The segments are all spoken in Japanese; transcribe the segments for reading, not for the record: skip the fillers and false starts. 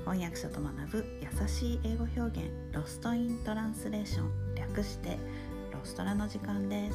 翻訳者と学ぶ優しい英語表現、ロストイントランスレーション、略してロストラの時間です。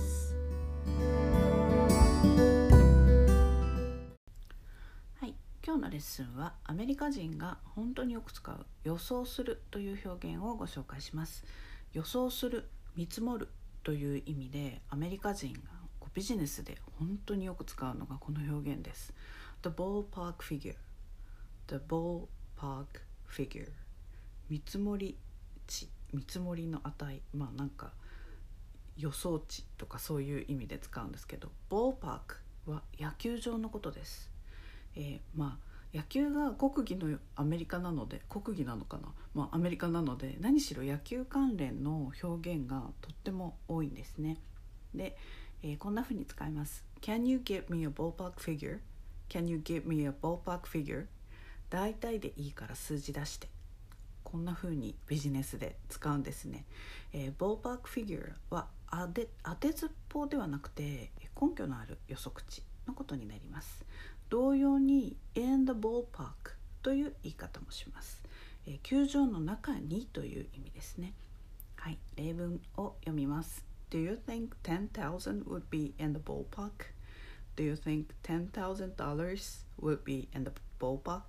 はい、今日のレッスンはアメリカ人が本当によく使う予想するという表現をご紹介します。予想する、見積もるという意味でアメリカ人がビジネスで本当によく使うのがこの表現です。The ballpark figure、 The ballpark figure、 見積もり値、見積もりの値、なんか予想値とかそういう意味で使うんですけど、ballparkは野球場のことです。野球が国技のアメリカなので、国技なのかな、アメリカなので何しろ野球関連の表現がとっても多いんですね。で、こんな風に使います。 Can you give me a ballpark figure? Can you give me a ballpark figure? 大体でいいから数字出して。こんな風にビジネスで使うんですね。ballpark figure は当てずっぽうではなくて根拠のある予測値のことになります。同様に in the ballpark という言い方もします。球場の中にという意味ですね。はい、例文を読みます。Do you think 10,000 would be in the ballpark? Do you think $10,000 would be in the ballpark?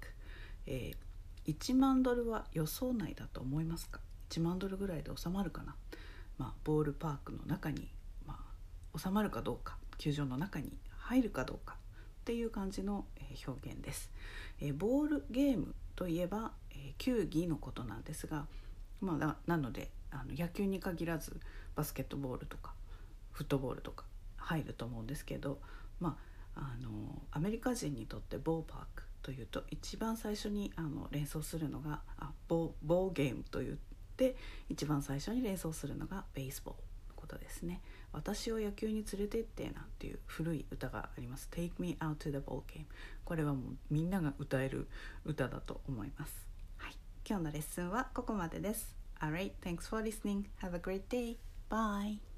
1万ドルは予想内だと思いますか？ 1 万ドルぐらいで収まるかな。ボールパークの中に、収まるかどうか、球場の中に入るかどうかっていう感じの表現です。ボールゲームといえば球技のことなんですが、なので野球に限らずバスケットボールとかフットボールとか入ると思うんですけど、アメリカ人にとってボーパークというと一番最初に連想するのがボーゲームといって一番最初に連想するのがベースボールのことですね。私を野球に連れてってなんていう古い歌があります。 Take me out to the ball game。 これはもうみんなが歌える歌だと思います。はい、今日のレッスンはここまでです。Alright, thanks for listening. Have a great day. Bye.